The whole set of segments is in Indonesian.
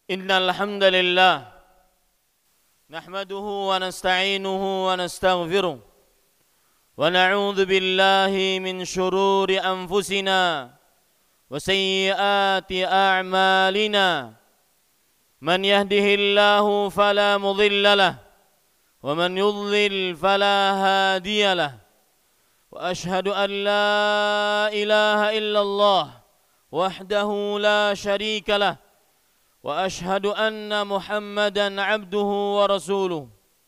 Innal hamdalillah nahmaduhu wa nasta'inuhu wa nastaghfiruh wa na'udzu billahi min shururi anfusina wa sayyiati a'malina man yahdihillahu fala mudilla lahu wa man yudlil fala hadiya lahu wa ashhadu an la ilaha illallah wahdahu la syarika lahu وأشهد أن محمدًا عبده ورسوله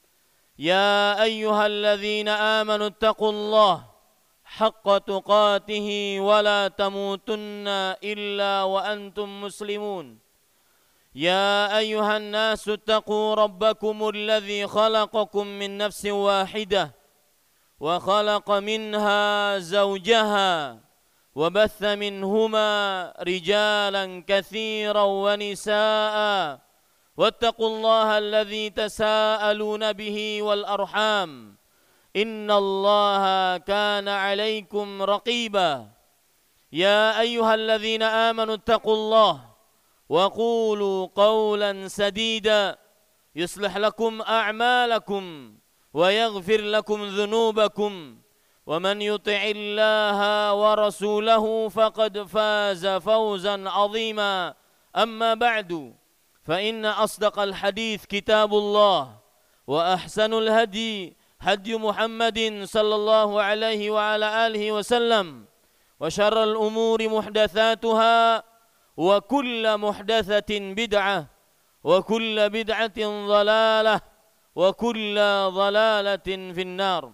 يا أيها الذين آمنوا اتقوا الله حق تقاته ولا تموتن إلا وأنتم مسلمون يا أيها الناس اتقوا ربكم الذي خلقكم من نفس واحدة وخلق منها زوجها وبث منهما رجالا كثيرا ونساء واتقوا الله الذي تساءلون به والأرحام إن الله كان عليكم رقيبا يا أيها الذين آمنوا اتقوا الله وقولوا قولا سديدا يصلح لكم أعمالكم ويغفر لكم ذنوبكم ومن يطع الله ورسوله فقد فاز فوزا عظيما أما بعد فإن أصدق الحديث كتاب الله وأحسن الهدي هدي محمد صلى الله عليه وعلى آله وسلم وشر الأمور محدثاتها وكل محدثة بدعة وكل بدعة ضلالة وكل ضلالة في النار.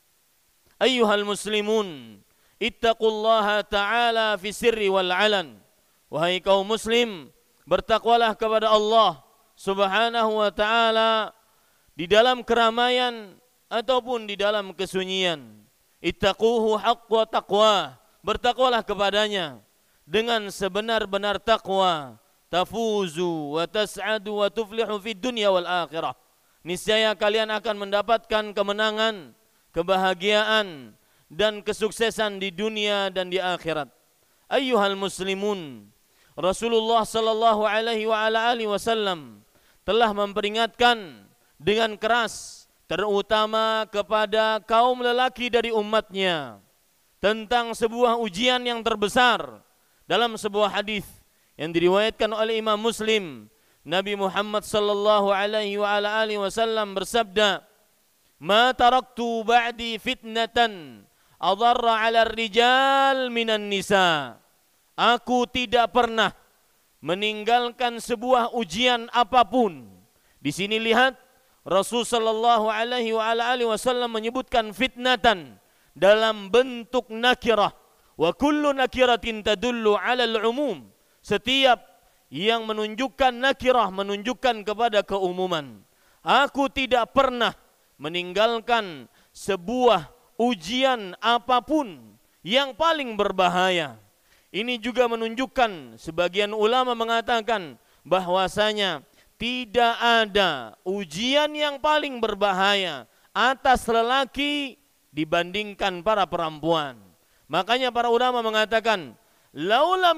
Ayyuhal muslimun, ittaqullaha ta'ala fi sirri wal alan. Wahai kaum muslim, bertakwalah kepada Allah subhanahu wa ta'ala di dalam keramaian ataupun di dalam kesunyian. Ittaquhu haqqa taqwa, bertakwalah kepadanya dengan sebenar-benar takwa. Tafuzu wa tas'adu wa tuflihu fid dunya wal akhirah. Niscaya kalian akan mendapatkan kemenangan, kebahagiaan dan kesuksesan di dunia dan di akhirat. Ayyuhal muslimun, Rasulullah sallallahu alaihi wa ala alihi wasallam telah memperingatkan dengan keras terutama kepada kaum lelaki dari umatnya tentang sebuah ujian yang terbesar. Dalam sebuah hadis yang diriwayatkan oleh Imam Muslim, Nabi Muhammad sallallahu alaihi wa ala alihi wasallam bersabda, "Ma taraktu ba'di fitnatan adarra 'ala ar-rijal minan nisa." Aku tidak pernah meninggalkan sebuah ujian apapun. Di sini lihat Rasul sallallahu alaihi wa ala alihi wasallam menyebutkan fitnatan dalam bentuk nakirah. Wa kullu nakiratin tadullu 'ala al-umum. Setiap yang menunjukkan nakirah menunjukkan kepada keumuman. Aku tidak pernah meninggalkan sebuah ujian apapun yang paling berbahaya. Ini juga menunjukkan, sebagian ulama mengatakan bahwasanya tidak ada ujian yang paling berbahaya atas lelaki dibandingkan para perempuan. Makanya para ulama mengatakan, laulam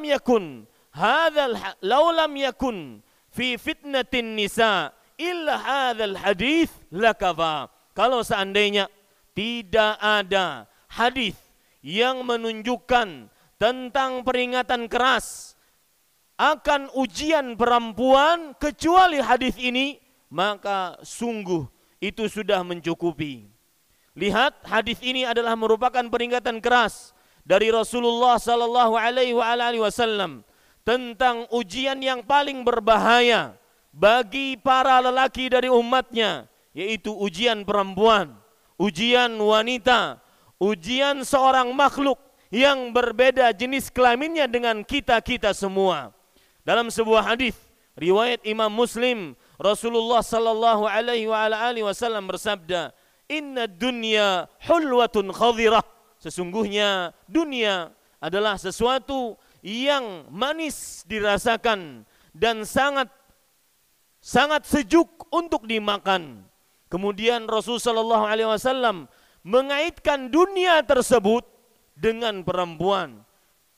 yakun fi fitnatin nisa illa hadzal hadis lakafa. Kalau seandainya tidak ada hadis yang menunjukkan tentang peringatan keras akan ujian perempuan kecuali hadis ini, maka sungguh itu sudah mencukupi. Lihat, hadis ini adalah merupakan peringatan keras dari Rasulullah sallallahu alaihi wasallam tentang ujian yang paling berbahaya bagi para lelaki dari umatnya, yaitu ujian perempuan, ujian wanita, ujian seorang makhluk yang berbeda jenis kelaminnya dengan kita-kita semua. Dalam sebuah hadis riwayat Imam Muslim, Rasulullah sallallahu alaihi wasallam bersabda, "Inna dunya hulwatun khadhirah." Sesungguhnya dunia adalah sesuatu yang manis dirasakan dan sangat sejuk untuk dimakan. Kemudian Rasul sallallahu alaihi wasallam mengaitkan dunia tersebut dengan perempuan.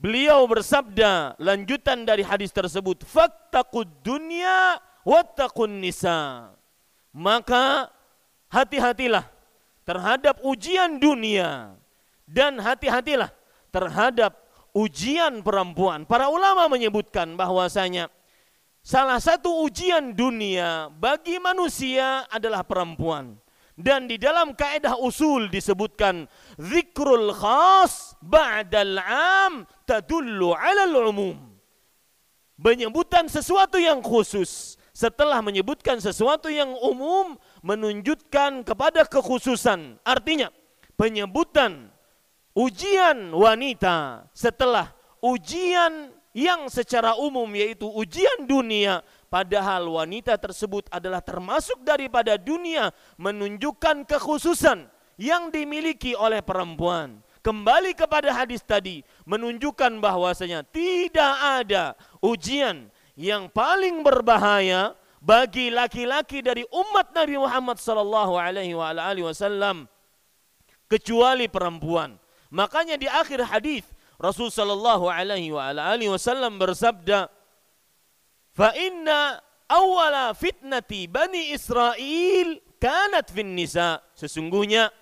Beliau bersabda, lanjutan dari hadis tersebut, fattaqud dunya wattaqun nisa. Maka hati-hatilah terhadap ujian dunia dan hati-hatilah terhadap ujian perempuan. Para ulama menyebutkan bahwasanya salah satu ujian dunia bagi manusia adalah perempuan. Dan di dalam kaidah usul disebutkan zikrul khas ba'dal 'am tadullu 'alal 'umum. Penyebutan sesuatu yang khusus setelah menyebutkan sesuatu yang umum menunjukkan kepada kekhususan. Artinya penyebutan ujian wanita setelah ujian yang secara umum yaitu ujian dunia, padahal wanita tersebut adalah termasuk daripada dunia, menunjukkan kekhususan yang dimiliki oleh perempuan. Kembali kepada hadis tadi, menunjukkan bahwasanya tidak ada ujian yang paling berbahaya bagi laki-laki dari umat Nabi Muhammad sallallahu alaihi wasallam kecuali perempuan. Makanya di akhir hadis Rasul sallallahu alaihi wasallam bersabda, "Fa inna awwala fitnati Bani Israel kanat fin nisa." Sesungguhnya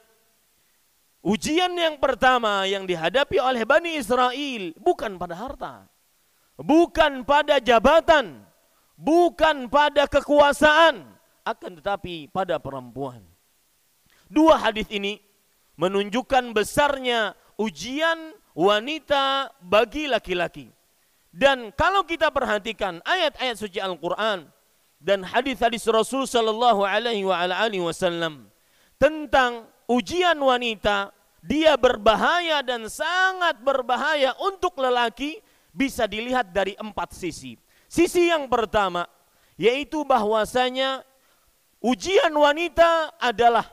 ujian yang pertama yang dihadapi oleh Bani Israel bukan pada harta, bukan pada jabatan, bukan pada kekuasaan, akan tetapi pada perempuan. Dua hadis ini menunjukkan besarnya ujian wanita bagi laki-laki. Dan kalau kita perhatikan ayat-ayat suci Al-Quran dan hadis-hadis Rasul sallallahu alaihi wasallam tentang ujian wanita, dia berbahaya dan sangat berbahaya untuk lelaki, bisa dilihat dari 4 sisi. Sisi yang pertama yaitu bahwasanya ujian wanita adalah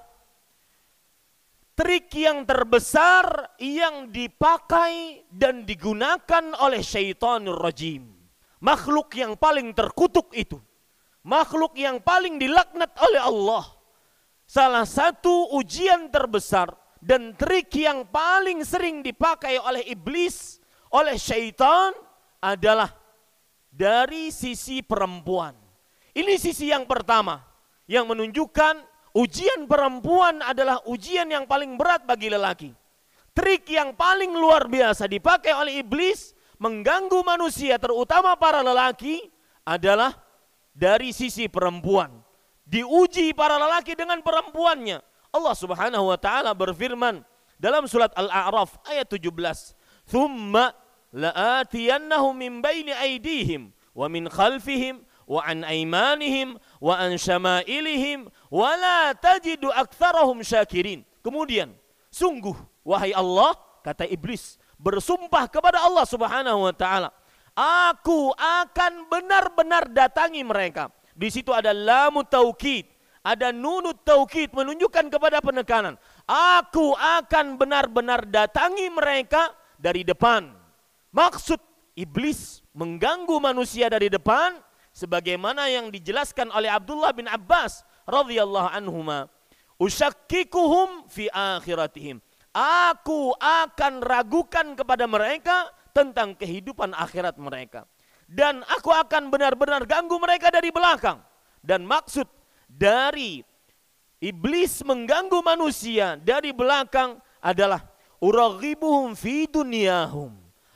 trik yang terbesar yang dipakai dan digunakan oleh syaitanir rajim. Makhluk yang paling terkutuk itu, makhluk yang paling dilaknat oleh Allah. Salah satu ujian terbesar dan trik yang paling sering dipakai oleh iblis, oleh syaitan adalah dari sisi perempuan. Ini sisi yang pertama yang menunjukkan ujian perempuan adalah ujian yang paling berat bagi lelaki. Trik yang paling luar biasa dipakai oleh iblis mengganggu manusia, terutama para lelaki, adalah dari sisi perempuan. Diuji para lelaki dengan perempuannya. Allah Subhanahu wa taala berfirman dalam surat Al-A'raf ayat 17, "Tsumma la'atiyannahum min baini aydihim wa min khalfihim wa an aimanihim wa an syama'ilihim wa la tajidu aktsarahum syakirin." Kemudian, sungguh wahai Allah, kata iblis, bersumpah kepada Allah Subhanahu wa taala, aku akan benar-benar datangi mereka. Di situ ada lamut taukid, ada nunut taukid menunjukkan kepada penekanan. Aku akan benar-benar datangi mereka dari depan. Maksud iblis mengganggu manusia dari depan sebagaimana yang dijelaskan oleh Abdullah bin Abbas radhiyallahu anhuma, "Usyakkikuhum fi akhiratihim." Aku akan ragukan kepada mereka tentang kehidupan akhirat mereka. Dan aku akan benar-benar ganggu mereka dari belakang. Dan maksud dari iblis mengganggu manusia dari belakang adalah uraghibuhum fi dunyahum.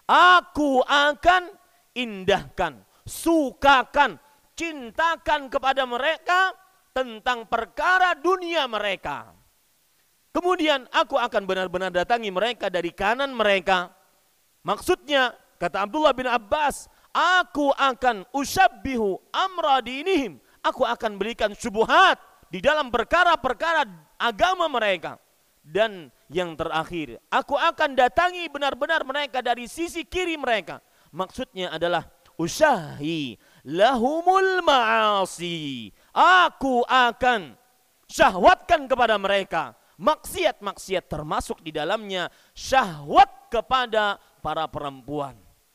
Aku akan indahkan, sukakan, cintakan kepada mereka tentang perkara dunia mereka. Kemudian aku akan benar-benar datangi mereka dari kanan mereka. Maksudnya, kata Abdullah bin Abbas, aku akan usabbihu amra dinihim. Aku akan berikan syubhat di dalam perkara-perkara agama mereka. Dan yang terakhir, aku akan datangi benar-benar mereka dari sisi kiri mereka. Maksudnya adalah usyahi lahumul ma'asi. Aku akan syahwatkan kepada mereka maksiat-maksiat, termasuk di dalamnya syahwat kepada para perempuan.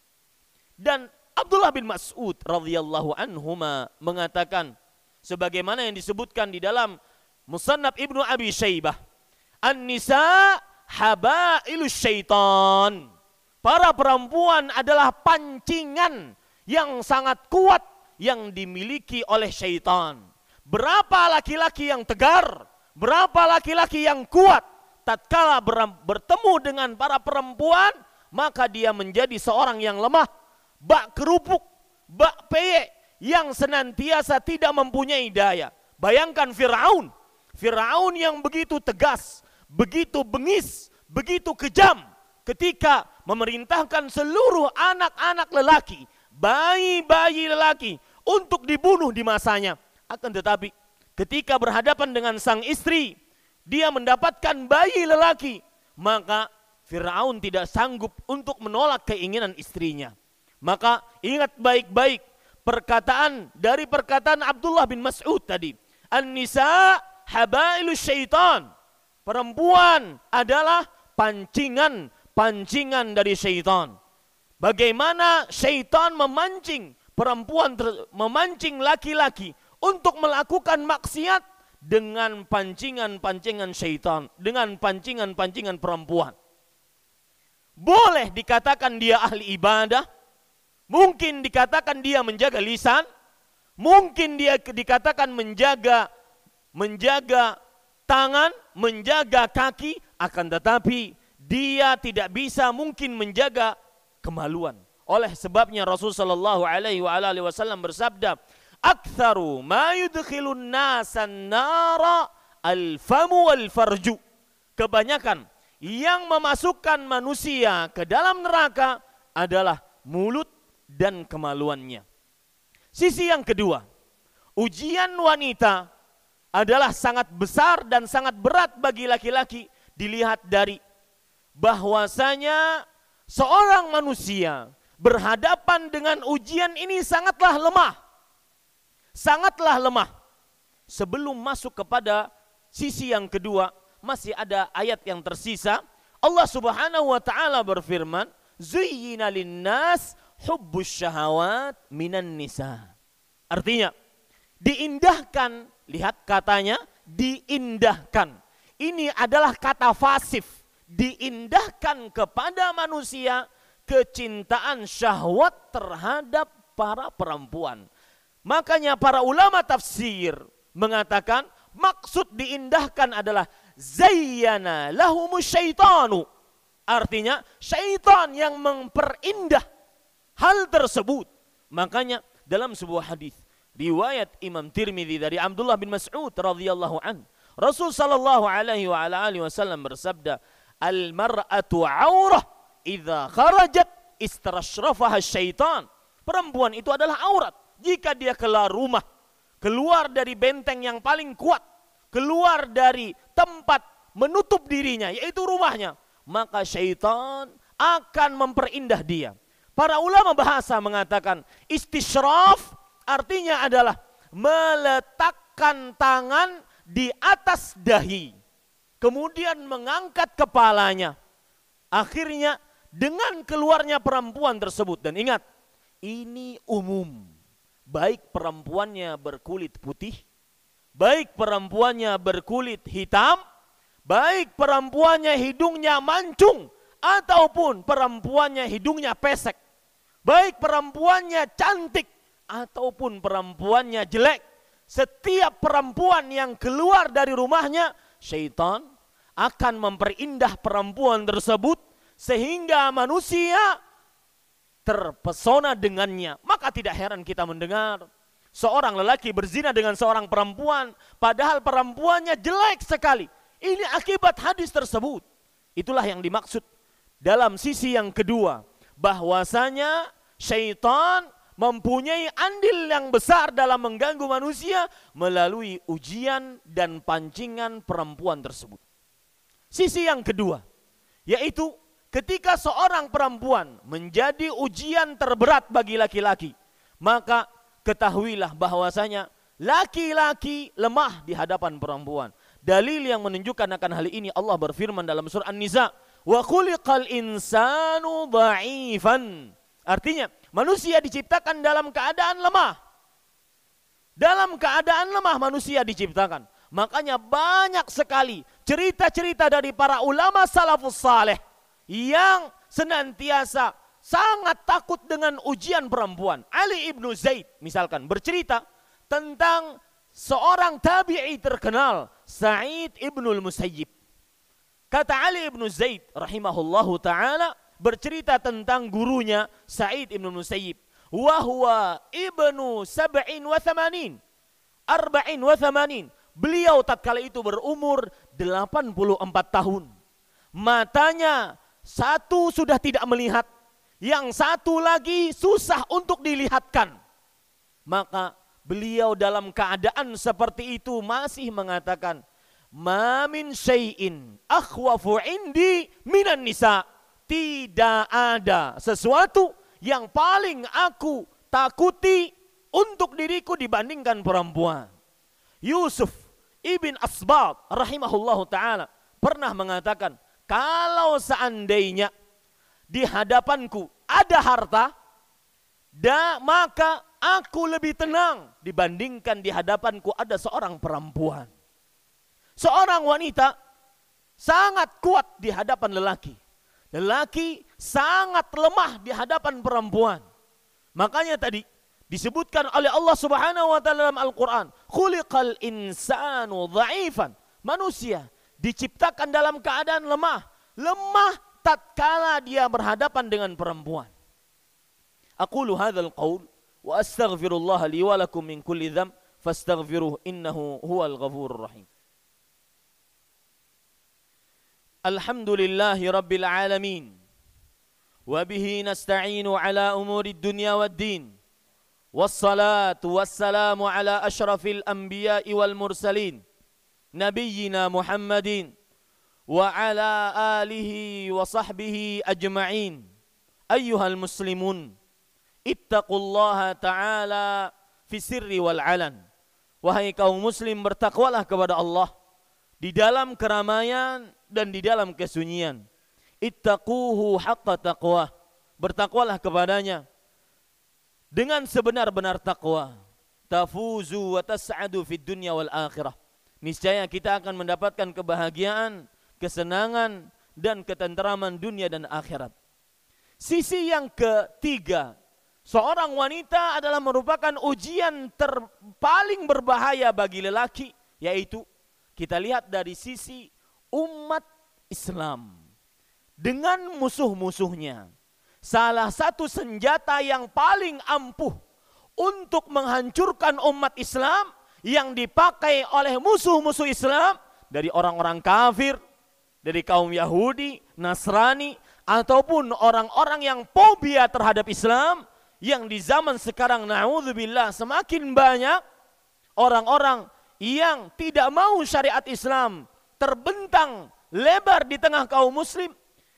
Dan Abdullah bin Mas'ud radhiyallahu anhuma mengatakan sebagaimana yang disebutkan di dalam Musannaf Ibnu Abi Syaibah, an-nisa habailus syaitan. para perempuan adalah pancingan yang sangat kuat yang dimiliki oleh syaitan. Berapa laki-laki yang tegar, berapa laki-laki yang kuat, tatkala bertemu dengan para perempuan, maka dia menjadi seorang yang lemah, bak kerupuk, bak peyek, yang senantiasa tidak mempunyai daya. Bayangkan Fir'aun, Fir'aun yang begitu tegas, begitu bengis, begitu kejam, ketika memerintahkan seluruh anak-anak lelaki, bayi-bayi lelaki untuk dibunuh di masanya. Akan tetapi ketika berhadapan dengan sang istri, dia mendapatkan bayi lelaki, maka Fir'aun tidak sanggup untuk menolak keinginan istrinya. Maka ingat baik-baik perkataan Abdullah bin Mas'ud tadi. An-nisa habailus syaitan. Perempuan adalah pancingan dari syaitan. Bagaimana syaitan memancing perempuan, memancing laki-laki untuk melakukan maksiat dengan pancingan-pancingan syaitan, dengan pancingan-pancingan perempuan. Boleh dikatakan dia ahli ibadah, mungkin dikatakan dia menjaga lisan, mungkin dia dikatakan menjaga tangan, menjaga kaki, akan tetapi dia tidak bisa mungkin menjaga kemaluan. Oleh sebabnya Rasul sallallahu alaihi wasallam bersabda, "Aktsaru ma yudkhilun nasan nara al-famu wal farju." Kebanyakan yang memasukkan manusia ke dalam neraka adalah mulut dan kemaluannya. Sisi yang kedua, ujian wanita adalah sangat besar dan sangat berat bagi laki-laki, dilihat dari bahwasanya seorang manusia berhadapan dengan ujian ini sangatlah lemah. Sangatlah lemah. Sebelum masuk kepada sisi yang kedua, masih ada ayat yang tersisa. Allah Subhanahu wa taala berfirman, "Zuyyina lin-nas hubbus syahawat minan nisa." Artinya, diindahkan, lihat katanya, diindahkan. Ini adalah kata fasif, diindahkan kepada manusia kecintaan syahwat terhadap para perempuan. Makanya para ulama tafsir mengatakan maksud diindahkan adalah zayyana lahumus syaitanu. Artinya syaitan yang memperindah hal tersebut. Makanya dalam sebuah hadis riwayat Imam Tirmidzi dari Abdullah bin Mas'ud radhiyallahu an, Rasul sallallahu alaihi wasallam bersabda, "Al-mar'atu 'aurah idza kharajat istarashrafaha syaitan." Perempuan itu adalah aurat. Jika dia keluar rumah, keluar dari benteng yang paling kuat, keluar dari tempat menutup dirinya, yaitu rumahnya, maka syaitan akan memperindah dia. Para ulama bahasa mengatakan istishraf artinya adalah meletakkan tangan di atas dahi, kemudian mengangkat kepalanya. Akhirnya dengan keluarnya perempuan tersebut, dan ingat, ini umum. Baik perempuannya berkulit putih, baik perempuannya berkulit hitam, baik perempuannya hidungnya mancung, ataupun perempuannya hidungnya pesek, baik perempuannya cantik, ataupun perempuannya jelek. Setiap perempuan yang keluar dari rumahnya, syaitan akan memperindah perempuan tersebut sehingga manusia terpesona dengannya. Maka tidak heran kita mendengar seorang lelaki berzina dengan seorang perempuan, padahal perempuannya jelek sekali. Ini akibat hadis tersebut. Itulah yang dimaksud dalam sisi yang kedua, bahwasanya syaitan mempunyai andil yang besar dalam mengganggu manusia melalui ujian dan pancingan perempuan tersebut. Sisi yang kedua, yaitu ketika seorang perempuan menjadi ujian terberat bagi laki-laki, maka ketahuilah bahwasanya laki-laki lemah di hadapan perempuan. Dalil yang menunjukkan akan hal ini, Allah berfirman dalam surah An-Nisa, "Wa khuliqal insanu dha'ifan." Artinya, manusia diciptakan dalam keadaan lemah. Dalam keadaan lemah manusia diciptakan. Makanya banyak sekali cerita-cerita dari para ulama salafus saleh yang senantiasa sangat takut dengan ujian perempuan. Ali ibnu Zaid misalkan bercerita tentang seorang tabi'i terkenal, Sa'id ibnul Musayyib. Kata Ali ibnu Zaid rahimahullahu ta'ala bercerita tentang gurunya Sa'id ibnul Musayyib. Wahuwa ibnu 87. Beliau tatkala itu berumur 84 tahun. Matanya satu sudah tidak melihat, yang satu lagi susah untuk dilihatkan. Maka beliau dalam keadaan seperti itu masih mengatakan, "Ma min syai'in akhwafu indi minan nisa." Tidak ada sesuatu yang paling aku takuti untuk diriku dibandingkan perempuan. Yusuf ibn Asbat rahimahullahu ta'ala pernah mengatakan, kalau seandainya di hadapanku ada harta, maka aku lebih tenang dibandingkan di hadapanku ada seorang perempuan. Seorang wanita sangat kuat di hadapan lelaki. Lelaki sangat lemah di hadapan perempuan. Makanya tadi disebutkan oleh Allah Subhanahu wa taala dalam Al-Qur'an, khuliqal insanu dha'ifan. Manusia diciptakan dalam keadaan lemah. Lemah tatkala dia berhadapan dengan perempuan. Aqulu hadzal qaul wa astaghfirullah li wa lakum min kulli dzamb fastaghfiruhu innahu huwal ghafurur rahim. Alhamdulillahi rabbil alamin. Wa bihi nasta'inu ala umurid dunya waddin. Wassalatu wassalamu ala ashrafil anbiya'i wal mursalin. Nabiyyina Muhammadin wa ala alihi wa sahbihi ajma'in. Ayyuhal muslimun, ittaqullaha ta'ala fi sirri wal alan. Wahai kaum muslim, bertakwalah kepada Allah di dalam keramaian dan di dalam kesunyian. Ittaquhu haqqa taqwa. Bertakwalah kepadanya dengan sebenar-benar takwa. Tafuzu wa tas'adu fid dunya wal akhirah. Niscaya kita akan mendapatkan kebahagiaan, kesenangan dan ketenteraman dunia dan akhirat. Sisi yang ketiga, seorang wanita adalah merupakan ujian paling berbahaya bagi lelaki, yaitu kita lihat dari sisi umat Islam dengan musuh-musuhnya. Salah satu senjata yang paling ampuh untuk menghancurkan umat Islam yang dipakai oleh musuh-musuh Islam dari orang-orang kafir, dari kaum Yahudi, Nasrani, ataupun orang-orang yang fobia terhadap Islam, yang di zaman sekarang na'udzubillah semakin banyak orang-orang yang tidak mau syariat Islam terbentang lebar di tengah kaum muslim.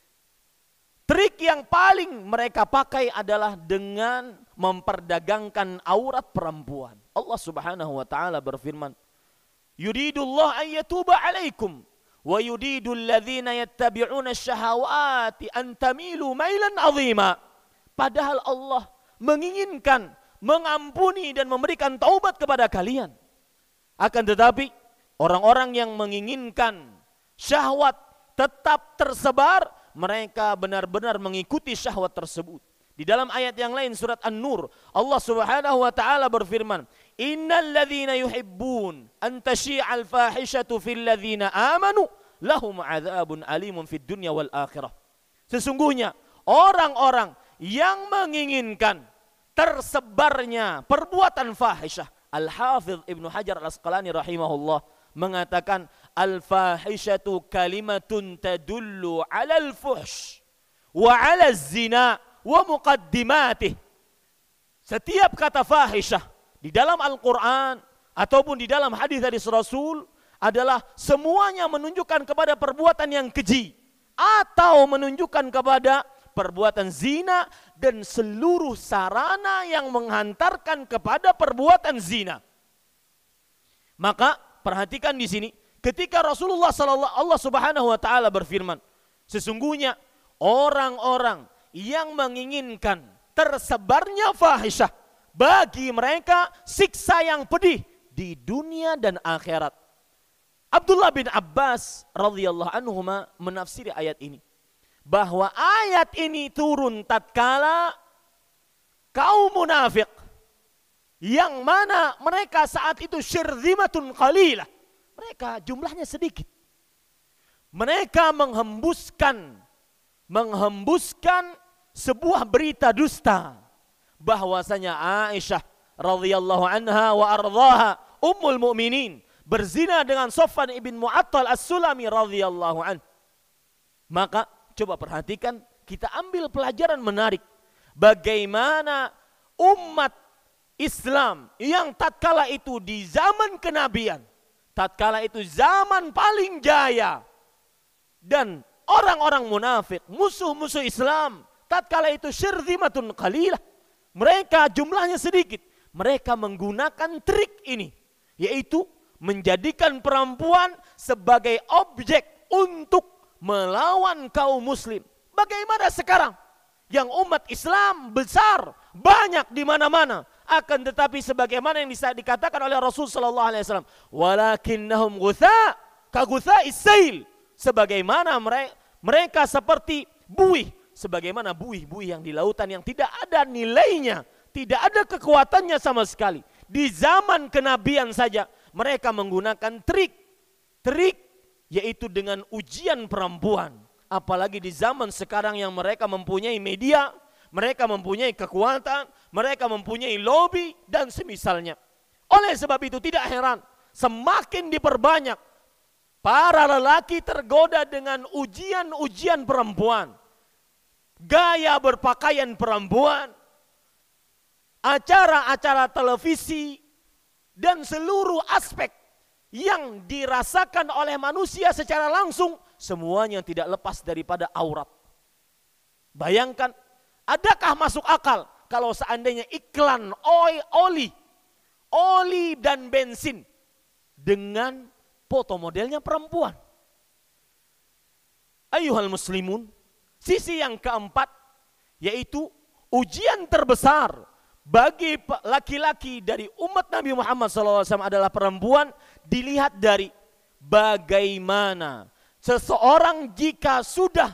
Trik yang paling mereka pakai adalah dengan memperdagangkan aurat perempuan. Allah Subhanahu wa taala berfirman, "Yuridullah an yatuba 'alaikum wa yuridul ladzina yattabi'una asy-syahawati an tamilu mailan 'azima." Padahal Allah menginginkan mengampuni dan memberikan taubat kepada kalian. Akan tetapi orang-orang yang menginginkan syahwat tetap tersebar, mereka benar-benar mengikuti syahwat tersebut. Di dalam ayat yang lain surat An-Nur, Allah Subhanahu wa taala berfirman, "Innal ladzina yuhibbun an tashi'al fahishatu fil ladzina amanu lahum 'adzabun alimun fid dunya wal akhirah." Sesungguhnya orang-orang yang menginginkan tersebarnya perbuatan fahisyah, Al-Hafidh Ibnu Hajar Al-Asqalani rahimahullah mengatakan, al-fahishatu kalimatun tadullu 'alal fuhsh wa 'alaz zina wa muqaddimatih. Setiap kata fahisyah di dalam Al-Qur'an ataupun di dalam hadis dari Rasul adalah semuanya menunjukkan kepada perbuatan yang keji atau menunjukkan kepada perbuatan zina dan seluruh sarana yang menghantarkan kepada perbuatan zina. Maka perhatikan di sini, ketika Rasulullah Allah Subhanahu wa taala berfirman, sesungguhnya orang-orang yang menginginkan tersebarnya fahisyah, bagi mereka siksa yang pedih di dunia dan akhirat. Abdullah bin Abbas radhiyallahu anhuma menafsiri ayat ini. bahwa ayat ini turun tatkala kaum munafik yang mana mereka saat itu syirzimatun qalilah. Mereka jumlahnya sedikit. Mereka menghembuskan sebuah berita dusta bahwasanya Aisyah radhiyallahu anha wa ardhaha ummul mukminin berzina dengan Safwan ibn Mu'attal As-Sulami radhiyallahu anhu. Maka coba perhatikan, kita ambil pelajaran menarik bagaimana umat Islam yang tatkala itu di zaman kenabian, tatkala itu zaman paling jaya, dan orang-orang munafik, musuh-musuh Islam, tatkala itu syirzimatun qalilah, mereka jumlahnya sedikit, mereka menggunakan trik ini, yaitu menjadikan perempuan sebagai objek untuk melawan kaum muslim. Bagaimana sekarang yang umat Islam besar, banyak di mana-mana, akan tetapi sebagaimana yang bisa dikatakan oleh Rasul sallallahu alaihi wasallam, walakinnahum ghutha ka ghutha'is sail, sebagaimana mereka seperti buih, sebagaimana buih-buih yang di lautan yang tidak ada nilainya, tidak ada kekuatannya sama sekali. Di zaman kenabian saja mereka menggunakan trik yaitu dengan ujian perempuan. Apalagi di zaman sekarang yang mereka mempunyai media, mereka mempunyai kekuatan, mereka mempunyai lobby dan semisalnya. Oleh sebab itu tidak heran semakin diperbanyak para lelaki tergoda dengan ujian-ujian perempuan, gaya berpakaian perempuan, acara-acara televisi, dan seluruh aspek yang dirasakan oleh manusia secara langsung, semuanya tidak lepas daripada aurat. Bayangkan, adakah masuk akal kalau seandainya iklan oli dan bensin dengan foto modelnya perempuan? Ayuhal muslimun, sisi yang keempat yaitu ujian terbesar bagi laki-laki dari umat Nabi Muhammad SAW adalah perempuan. Dilihat dari bagaimana seseorang jika sudah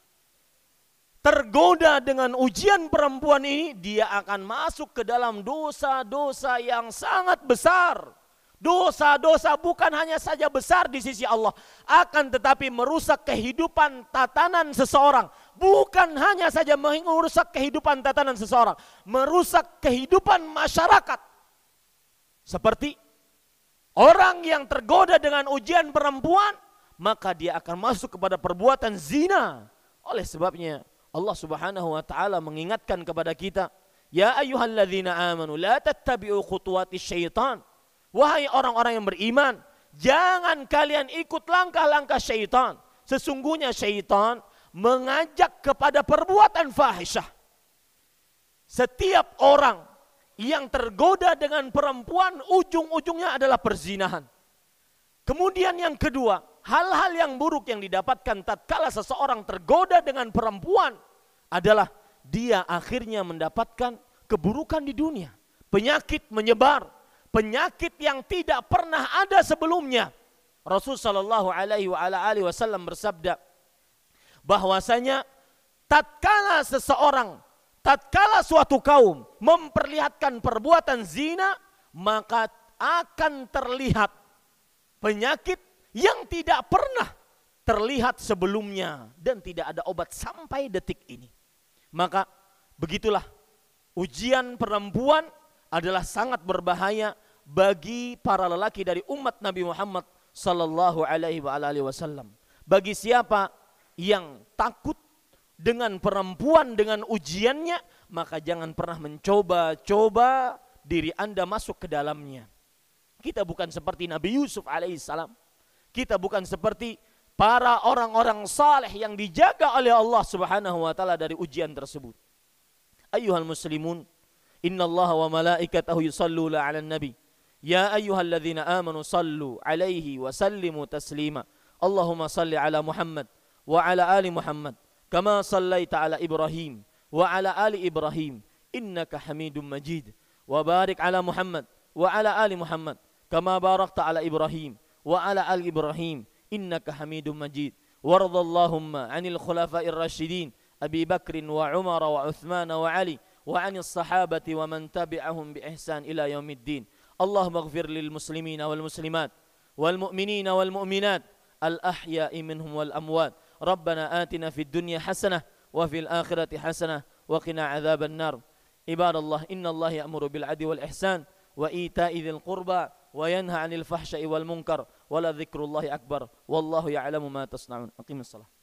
tergoda dengan ujian perempuan ini, dia akan masuk ke dalam dosa-dosa yang sangat besar. Dosa-dosa bukan hanya saja besar di sisi Allah, akan tetapi merusak kehidupan tatanan seseorang. Bukan hanya saja merusak kehidupan tatanan seseorang, merusak kehidupan masyarakat. Seperti orang yang tergoda dengan ujian perempuan, maka dia akan masuk kepada perbuatan zina. Oleh sebabnya Allah Subhanahu wa taala mengingatkan kepada kita, ya ayyuhalladzina amanu la tattabi'u khutuwatis syaitan. Wahai orang-orang yang beriman, jangan kalian ikut langkah-langkah syaitan. Sesungguhnya syaitan mengajak kepada perbuatan fahisyah. Setiap orang yang tergoda dengan perempuan, ujung-ujungnya adalah perzinahan. Kemudian yang kedua, hal-hal yang buruk yang didapatkan tatkala seseorang tergoda dengan perempuan adalah dia akhirnya mendapatkan keburukan di dunia. Penyakit menyebar, penyakit yang tidak pernah ada sebelumnya. Rasul sallallahu alaihi wasallam bersabda bahwasanya tatkala suatu kaum memperlihatkan perbuatan zina, maka akan terlihat penyakit yang tidak pernah terlihat sebelumnya dan tidak ada obat sampai detik ini. Maka begitulah ujian perempuan adalah sangat berbahaya bagi para lelaki dari umat Nabi Muhammad sallallahu alaihi wasallam. Bagi siapa yang takut dengan perempuan, dengan ujiannya, maka jangan pernah mencoba-coba diri Anda masuk ke dalamnya. Kita bukan seperti Nabi Yusuf alaihissalam. Kita bukan seperti para orang-orang saleh yang dijaga oleh Allah Subhanahu wa taala dari ujian tersebut. Ayyuhal muslimun, innallaha wa malaikatahu yusalluna 'alan nabi. Ya ayyuhalladzina amanu sallu 'alaihi wa sallimu taslima. Allahumma salli 'ala Muhammad wa 'ala ali Muhammad kama sallaita 'ala Ibrahim wa 'ala ali Ibrahim innaka Hamidum Majid. Wa barik 'ala Muhammad wa 'ala ali Muhammad kama barakta 'ala Ibrahim wa 'ala ali Ibrahim innaka Hamidum Majid. وارض اللهم عن الخلفاء الراشدين أبي بكر وعمر وعثمان وعلي وعن الصحابة ومن تبعهم بإحسان إلى يوم الدين. اللهم اغفر للمسلمين والمسلمات والمؤمنين والمؤمنات الأحياء منهم والأموات. ربنا آتنا في الدنيا حسنة وفي الآخرة حسنة وقنا عذاب النار. عباد الله، إن الله يأمر بالعدل والإحسان وإيتاء ذي القربى وينهى عن الفحشاء والمنكر ولذكر الله أكبر والله يعلم ما تصنعون. أقيم الصلاة.